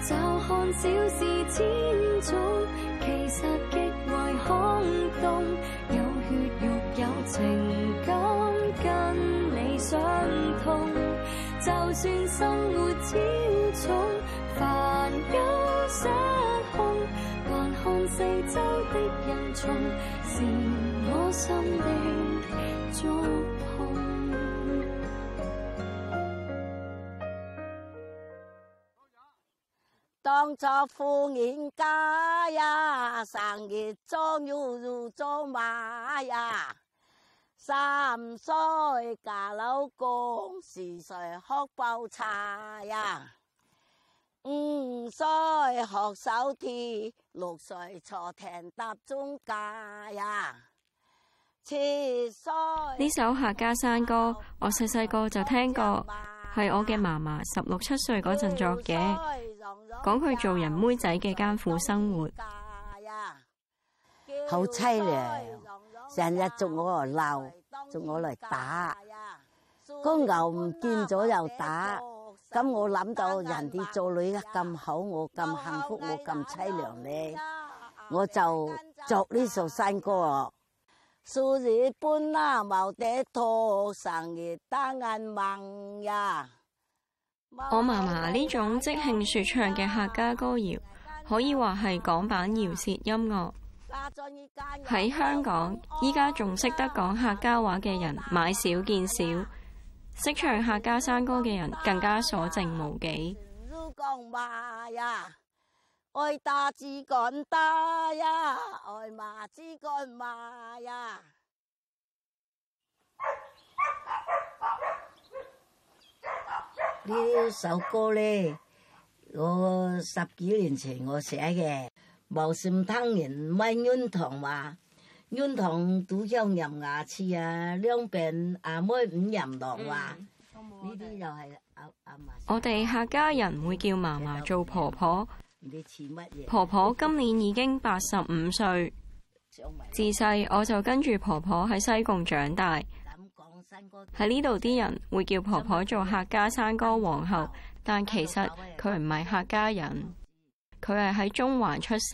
驟看小事千種，其實極為空洞。有血肉有情感，跟你相通。就算生活超重，煩憂失控，還看四周的人叢，是我心的觸碰。 當作富人家呀，生日裝要做馬呀。3歲嫁老公，4歲學煲茶呀，5歲學手提，6歲坐艇搭中架呀，7歲。 呢首客家山歌，我細個就聽過，係我嘅嫲嫲16、17歲嗰陣作嘅，講佢做人妹仔嘅艱苦生活。 好凄涼，成日捉我嚟鬧，捉我嚟打，個牛唔見咗又打，咁我諗到人哋做女咁好，我咁幸福，我咁凄涼咧，我就作呢首山歌啊。數日半啦冇得拖，生日打眼盲呀。 我嫲嫲呢種即興說唱嘅客家歌謠，可以話係港版饒舌音樂。喺香港，依家仲識得講客家話嘅人買少見少，識唱客家山歌嘅人更加所剩無幾。 愛打支竿打呀，愛罵支竿罵呀。呢首歌咧，我10幾年前我寫嘅。無心탕人咪軟糖嘛，軟糖都香入牙齒啊，兩邊阿妹唔飲糖話，呢啲又係阿嫲。 我哋客家人會叫嫲嫲做婆婆， 你似乜嘢？ 婆婆今年已經85歲。自細我就跟住婆婆喺西貢長大，喺呢度啲人會叫婆婆做客家山歌皇后，但其實佢唔係客家人。佢係喺中環出世。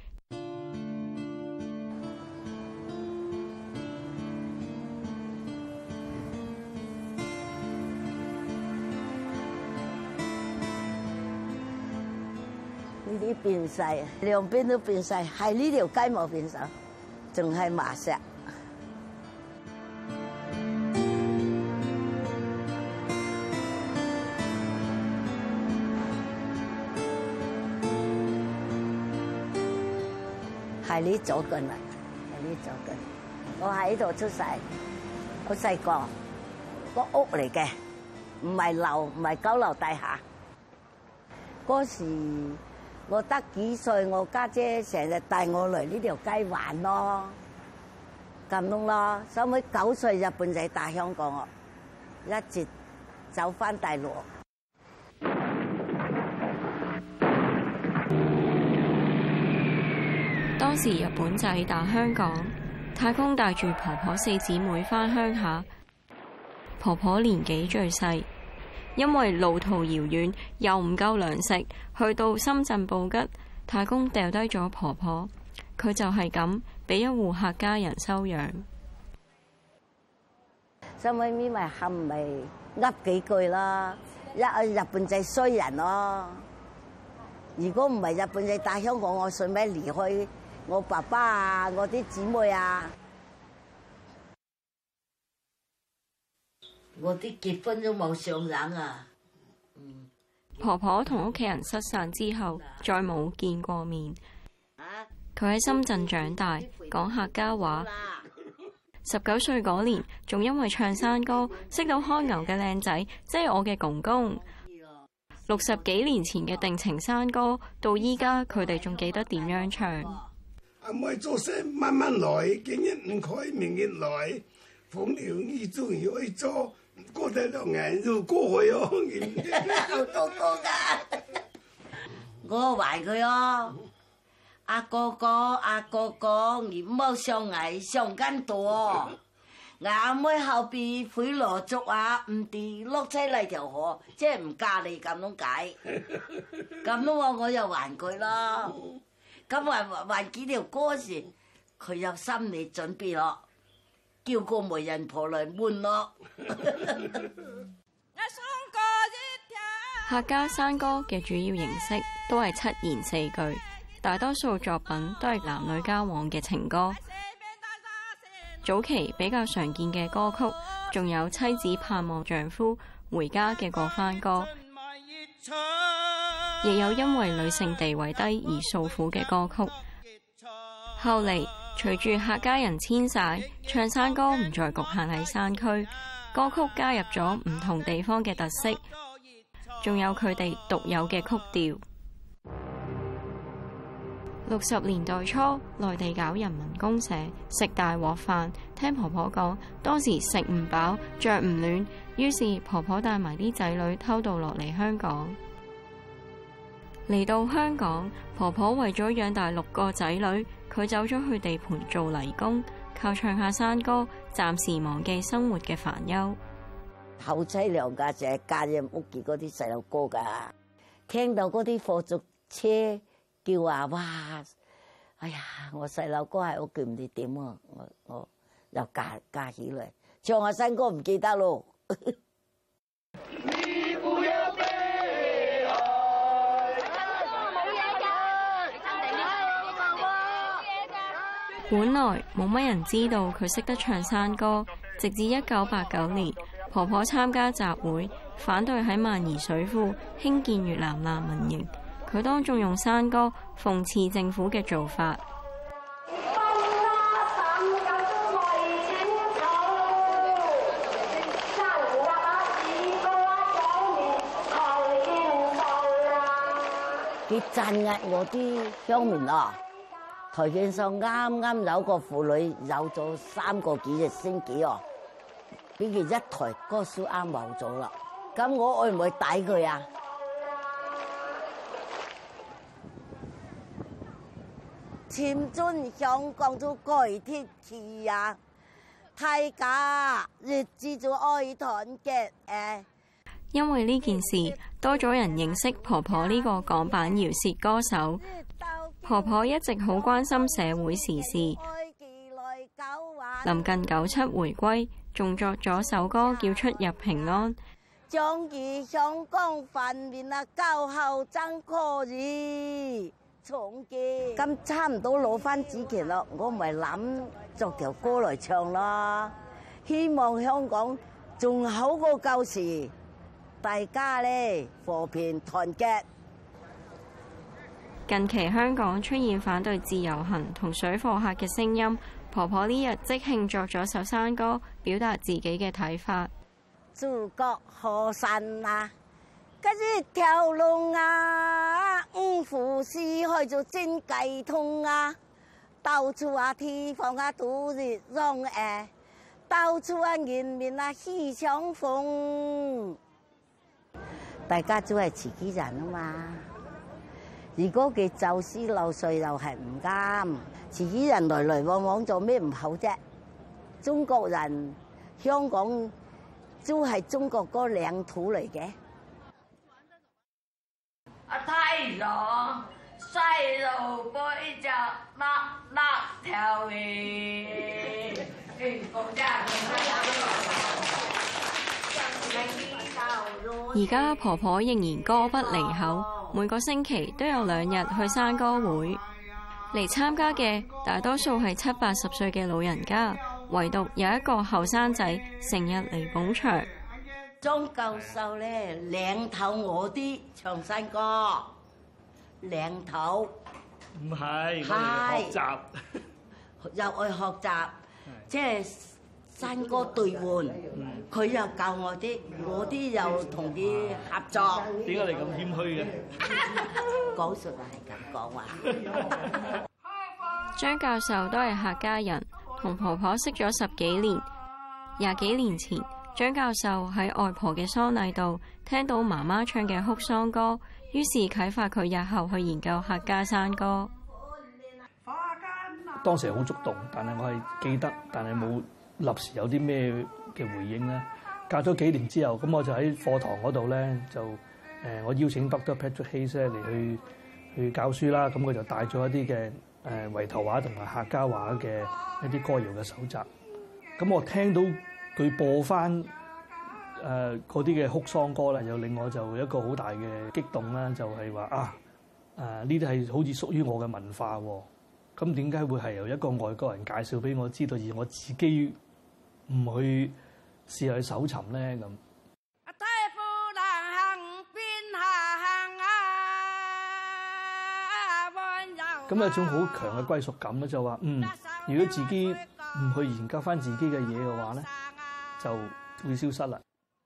呢啲變晒，兩邊都變晒，係呢條街冇變晒，仲係麻石。係呢左近啦，係呢左近。我喺呢度出世，好細個屋嚟嘅，唔係樓，唔係高樓大廈。嗰時我得幾歲，我家姐成日帶我嚟呢條街玩咯，咁樣咯。收尾9歲日本仔打香港我，一直走翻大陸。 當時日本仔打香港，太公帶住婆婆4姊妹返鄉下，婆婆年紀最細，因為路途遙遠又唔夠糧食，去到深圳布吉，太公掉低咗婆婆，佢就係咁俾一戶客家人收養。 收尾咪冚咪噏幾句啦，日本仔衰人咯。如果唔係日本仔打香港，我順便離開我爸爸啊，我啲姊妹啊，我啲結婚都冇上癮啊。 婆婆同屋企人失散之後，再冇見過面。佢喺深圳長大，講客家話。19歲嗰年，仲因為唱山歌，識到開牛嘅靚仔，即係我嘅公公。60幾年前嘅定情山歌，到依家佢哋仲記得點樣唱。 阿妹做事慢慢來，今日唔開，明日來，風流意中要去做，過得2年就過去哦。 好多歌噶，我懷佢哦。阿哥哥，你唔好上藝上咁多， 眼妹後邊會落足啊，唔跌碌車嚟條河，即係唔嫁你咁樣解。咁樣我又還佢咯。咁還幾條歌時，佢有心理準備咯，叫個媒人婆嚟換咯。 客家山歌嘅主要形式都係7言4句，大多數作品都係男女交往嘅情歌。早期比較常見嘅歌曲，仲有妻子盼望丈夫回家嘅過番歌，亦有因為女性地位低而訴苦嘅歌曲。後嚟隨住客家人遷徙，唱山歌唔再局限喺山區，歌曲加入咗唔同地方嘅特色，仲有佢哋獨有嘅曲調。60年代初，內地搞人民公社，食大鑊飯。聽婆婆講，當時食唔飽，着唔暖，於是婆婆帶埋啲仔女偷渡落嚟香港。嚟到香港，婆婆為咗養大6個仔女，佢走咗去地盤做泥工，靠唱下山歌，暫時忘記生活嘅煩憂。 後妻娘家姐嫁入屋企嗰啲細路哥㗎，聽到嗰啲貨足車叫啊，哇！哎呀，我細路哥喺屋企唔知點啊，我又嫁起嚟，唱下山歌唔記得咯。 本來冇乜人知道佢識得唱山歌，直至1989年，婆婆參加集會，反對喺萬宜水庫興建越南難民營。佢當眾用山歌諷刺政府嘅做法。 佢鎮壓我啲鄉民啊！台面上啱啱有個婦女有咗3個幾日星期哦，俾佢一台歌書啱冇咗啦。咁我會唔會抵佢啊？前進香港就改鐵氣呀，大家日子就愛團結誒。 因為呢件事，多咗人認識婆婆呢個港版饒舌歌手。婆婆一直好關心社會時事。臨近97回歸，仲作咗首歌叫《出入平安》。 將於香港繁面啊，交後真可以重建。咁差唔多攞翻主權咯，我咪諗作條歌嚟唱咯。希望香港仲好過舊時，大家咧和平團結。 近期香港出現反對自由行同水貨客嘅聲音，婆婆呢日即興作咗首山歌，表達自己嘅睇法。 祖國河山啊，嗰啲條路啊，五湖四海就真計通啊，到處啊地方啊都熱浪誒，到處啊人民啊喜相逢，大家都係自己人啊嘛。如果佢走私漏稅又係唔啱，自己人來來往往做咩唔好啫？中國人香港都係中國個領土嚟嘅。太陽曬到背脊甩條尾。 而家婆婆仍然歌不離口，每個星期都有2日去山歌會。嚟參加嘅大多數係70、80歲嘅老人家，唯獨有一個後生仔成日嚟捧場。 張教授咧領頭我啲唱山歌，領頭唔係，我哋學習又去學習，即係山歌對換，佢又教我啲又同啲合作。 點解你咁謙虛嘅？ 講實話係咁講話。 張教授都係客家人，同婆婆識咗10幾年。20幾年前，張教授喺外婆嘅喪禮度聽到媽媽唱嘅哭喪歌，於是啟發佢日後去研究客家山歌。 當時好觸動，但係我係記得，但係冇立時有啲咩嘅回應咧。隔咗幾年之後，咁我就喺課堂嗰度咧就我邀請 Dr. Patrick Hayes 咧嚟去教書啦。咁佢就帶咗一啲嘅圍頭話同埋客家話嘅一啲歌謠嘅手集。咁我聽到佢播翻嗰啲嘅哭喪歌咧，又令我就一個好大嘅激動啦，就係話呢啲係好似屬於我嘅文化喎。咁點解會係由一個外國人介紹俾我知道，而我自己唔去試下去搜尋咧咁？咁有種好強嘅歸屬感咧，就話如果自己唔去研究翻自己嘅嘢嘅話咧，就會消失啦。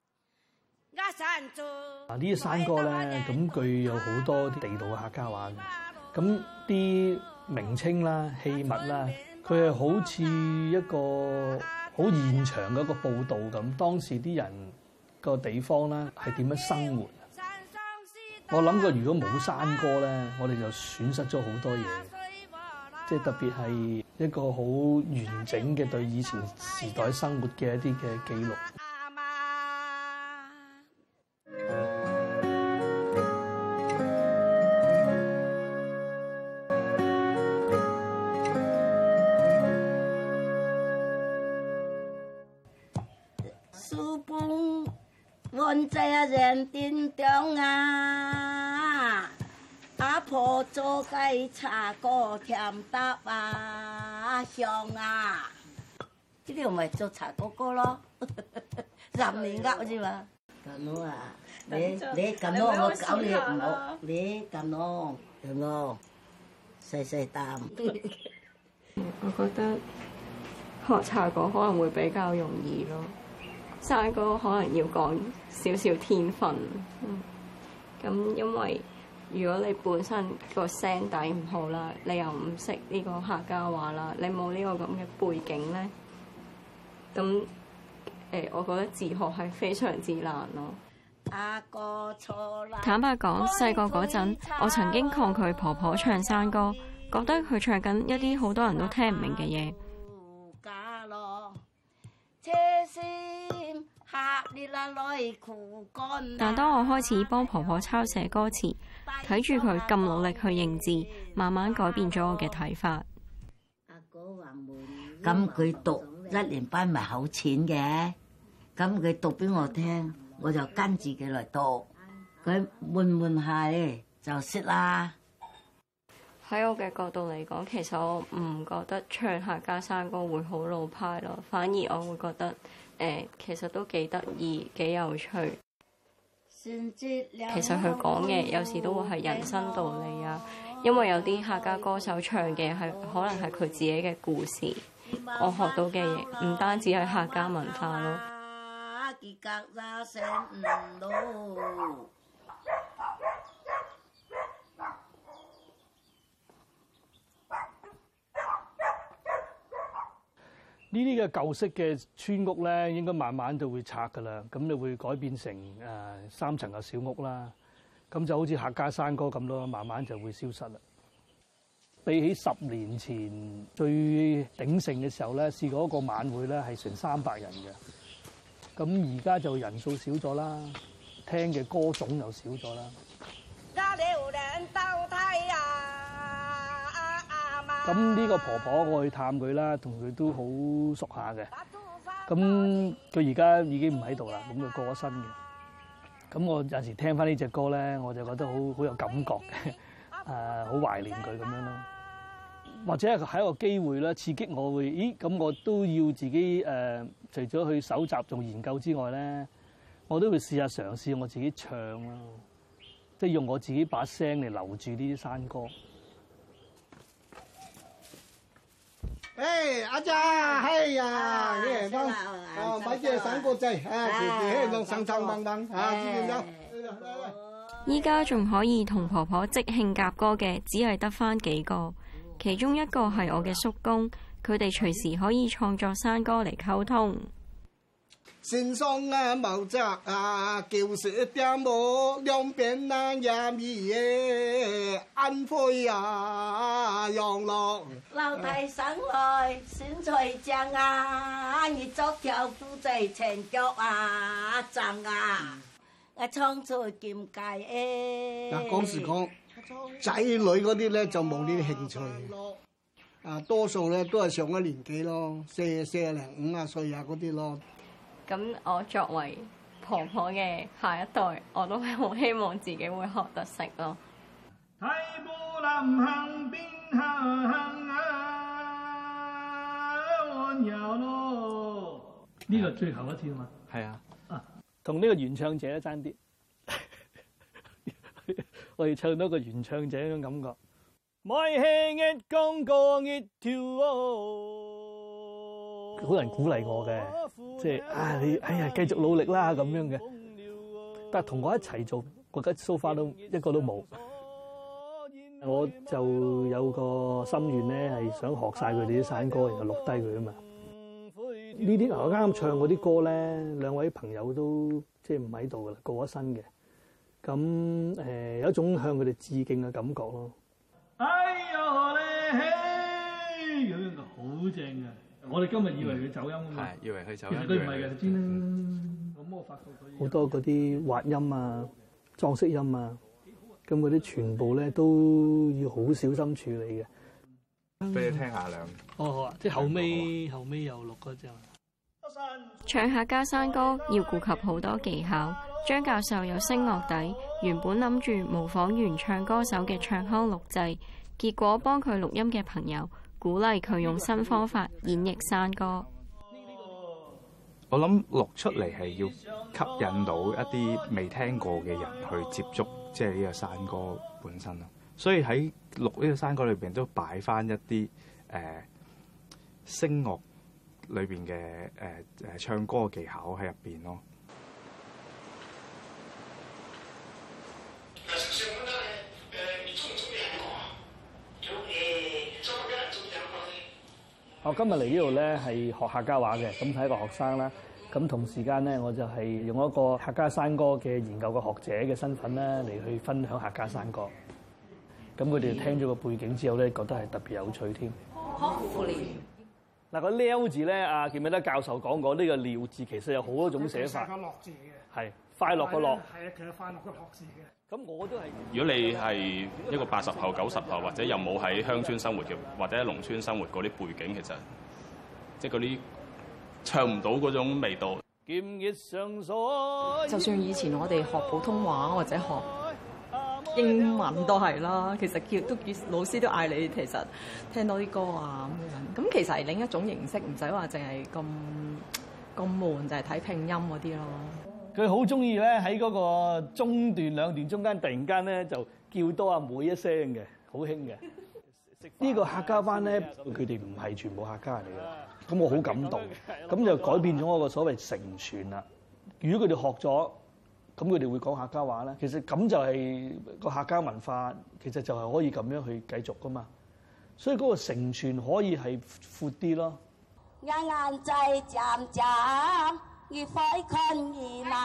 呢啲山歌咧，咁佢有好多啲地道嘅客家話嘅，咁啲名稱啦、器物啦，佢係好似一個好現場嘅一個報導咁。當時啲人個地方咧係點樣生活？我諗過，如果冇山歌咧，我哋就損失咗好多嘢，即係特別係一個好完整嘅對以前時代生活嘅一啲嘅記錄。 安在人丁中啊，阿婆做雞茶歌甜搭啊香啊，呢啲咪做茶哥哥咯，任你噏啫嘛。咁咯啊，你咁咯，我搞你唔好，你咁咯，咁咯，細細啖。 我覺得學茶歌可能會比較容易咯。山歌可能要講少少天分，咁因為如果你本身個聲底唔好啦，你又唔識呢個客家話啦，你冇呢個咁嘅背景咧，咁我覺得自學係非常之難咯。坦白講，細個嗰陣，我曾經抗拒婆婆唱山歌，覺得佢唱緊一啲好多人都聽唔明嘅嘢。但當我開始幫婆婆抄寫歌詞，睇住佢咁努力去認字，慢慢改變咗我嘅睇法。 咁佢讀1年班咪好淺嘅，咁佢讀俾我聽，我就跟住佢嚟讀，佢悶下咧就識啦。 喺我嘅角度嚟講，其實我唔覺得唱客家山歌會好老派咯，反而我會覺得其實都幾得意、幾有趣。其實佢講嘅有時都會係人生道理啊，因為有啲客家歌手唱嘅係可能係佢自己嘅故事。我學到嘅嘢唔單止係客家文化咯。 呢啲嘅舊式嘅村屋咧，應該慢慢就會拆㗎啦。咁就會改變成3層嘅小屋啦。咁就好似客家山歌咁咯，慢慢就會消失啦。比起10年前最鼎盛嘅時候咧，試過一個晚會咧係成300人嘅。咁而家就人數少咗啦，聽嘅歌種又少咗啦。咁呢個婆婆我去探佢啦，同佢都好熟下嘅。咁佢而家已經唔喺度啦，咁佢過咗身嘅。咁我有時聽翻呢隻歌咧，我就覺得好有感覺嘅，好懷念佢咁樣咯。或者係一個機會啦，刺激我會，咁我都要自己除咗去搜集做研究之外咧，我都會試下嘗試我自己唱咯，即係用我自己把聲嚟留住呢啲山歌。 阿姐，哎呀，你嚟幫買隻散果仔，弄層掹掹知唔知？ 依家仲可以同婆婆即興夾歌嘅，只係得返幾個，其中一個係我嘅叔公，佢哋隨時可以創作山歌嚟溝通。 身上啊毛澤啊，就是點無兩邊啊也米耶，安徽啊養樂。 老太上來選菜醬啊，你作條夫仔前腳啊醬啊，我創出劍界誒。 嗱，講時講仔女嗰啲咧就冇呢啲興趣嘅，啊多數咧都係上咗年紀咯，40零50歲啊嗰啲咯。 咁我作為婆婆嘅下一代，我都係好希望自己會學得識咯。 睇步南行邊行啊，安有咯。呢個最後一次啊嘛。係啊。同呢個原唱者爭啲，我要唱到個原唱者嗰種感覺。每輕一講過一條好難鼓勵我嘅，即係你繼續努力啦咁樣嘅。但係同我一齊做，我覺得 so far 都一個都冇。我就有個心願咧，係想學晒佢哋啲山歌，然後錄低佢啊嘛。呢啲我啱啱唱嗰啲歌咧，兩位朋友都即係唔喺度噶啦，過咗身嘅。咁有一種向佢哋致敬嘅感覺咯。哎呦咧，咁樣好正嘅。我哋今日以為佢走音啊嘛，係以為佢走音，其實佢唔係嘅，你知啦。咁我發覺好多嗰啲滑音啊、裝飾音啊，咁嗰啲全部咧都要好小心處理嘅。俾你聽下兩。好啊，即係後尾又錄嗰隻。 唱客家山歌要顧及好多技巧。張教授有聲樂底，原本諗住模仿原唱歌手嘅唱腔錄製，結果幫佢錄音嘅朋友鼓勵佢用新方法演繹山歌。 我諗錄出嚟係要吸引到一啲未聽過嘅人去接觸，即係呢個山歌本身咯。所以喺錄呢個山歌裏邊都擺翻一啲聲樂裏邊嘅唱歌嘅技巧喺入邊咯。 我今日嚟呢度咧係學客家話嘅，咁係一個學生啦。咁同時間咧，我就係用一個客家山歌嘅研究嘅學者嘅身份咧嚟去分享客家山歌。咁佢哋聽咗個背景之後咧，覺得係特別有趣添。嗱個撩字咧，記唔記得教授講過呢個撩字其實有好多種寫法。快樂字嘅。係快樂個樂。係啊，其實快樂個樂字嘅。咁我都係。如果你係一個80後、90後，或者有冇喺鄉村生活嘅，或者喺農村生活嗰啲背景，其實即係嗰啲唱唔到嗰種味道。 就算以前我哋學普通話或者學英文都係啦，其實老師都嗌你其實聽多啲歌啊咁樣。咁其實係另一種形式，唔使話淨係咁悶，就係睇拼音嗰啲咯。佢好中意咧喺嗰個中段兩段中間，突然間咧就叫多阿妹一聲嘅，好興嘅。呢個客家班咧，佢哋唔係全部客家人嚟嘅，咁我好感動。咁就改變咗我個所謂承傳啦。如果佢哋學咗，咁佢哋會講客家話咧。其實咁就係個客家文化，其實就係可以咁樣去繼續噶嘛。所以嗰個承傳可以係闊啲咯。 眼眼仔漸漸。越快困而難，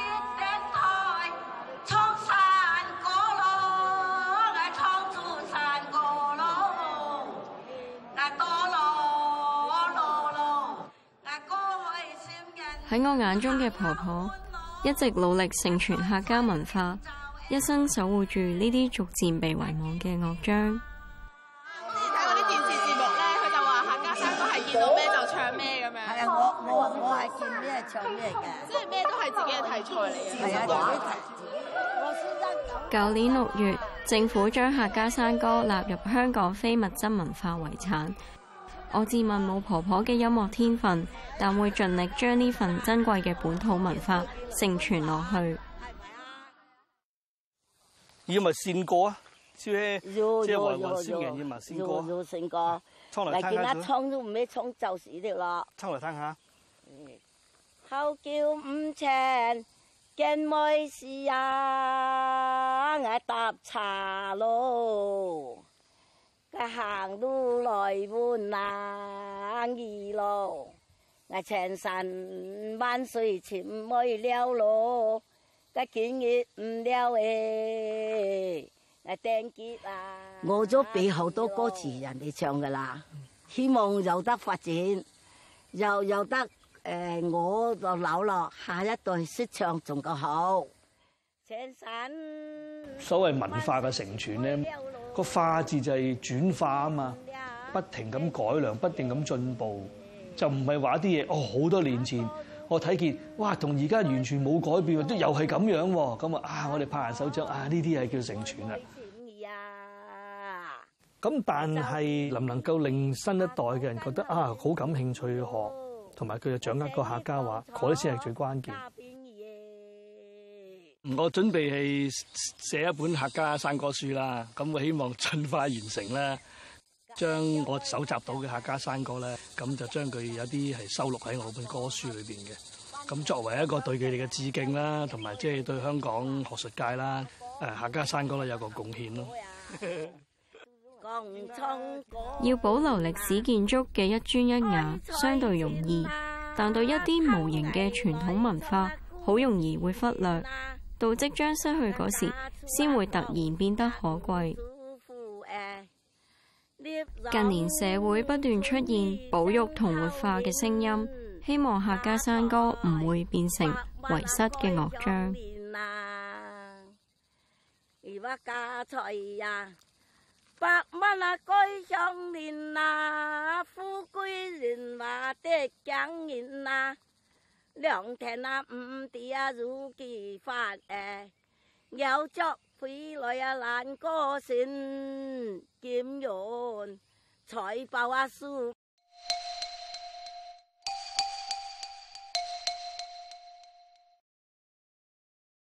蒼山過路，蒼出山過路， 喺我眼中嘅婆婆，一直努力承傳客家文化，一生守護住呢啲逐漸被遺忘嘅樂章。見到咩就唱咩咁樣。係啊，我係見咩唱咩嘅。即係咩都係自己嘅題材嚟嘅。係啊，舊年6月，政府將客家山歌納入香港非物質文化遺產。我自問冇婆婆嘅音樂天分，但會盡力將呢份珍貴嘅本土文化承傳落去。 要咪線歌啊？即係話先人要咪線歌。 要線歌。嚟見一唱都唔咩唱就是啲咯。 唱嚟聽下。 後叫五情見妹事啊，我搭茶路，個行路來換冷意路， 我千山萬水尋沒了路，我見亦唔了誒，我定結啊！我都俾好多歌詞人哋唱噶啦，希望有得發展，有得我就老咯，下一代識唱仲夠好。千山所謂文化嘅承傳咧，個化字就係轉化啊嘛，不停咁改良，不斷咁進步。就唔係話啲嘢好多年前我睇見，哇，同而家完全冇改變，都又係咁樣喎。咁我哋拍下手掌呢啲係叫承傳啦。咁但係能唔能夠令新一代嘅人覺得好感興趣學，同埋佢就掌握個客家話，嗰啲先係最關鍵。 我準備係寫一本客家山歌書啦，咁我希望盡快完成啦。將我搜集到嘅客家山歌咧，咁就將佢有啲係收錄喺我本歌書裏邊嘅。咁作為一個對佢哋嘅致敬啦，同埋即係對香港學術界啦，客家山歌咧有個貢獻咯。 要保留歷史建築嘅一磚一瓦相對容易，但對一啲無形嘅傳統文化，好容易會忽略，到即將失去嗰時，先會突然變得可貴。近年社會不斷出現保育同活化嘅聲音，希望客家山歌唔會變成遺失嘅樂章。百蚊居上年富貴人話的講言良田唔地如其法有作回來難過線，劍緣財寶樹。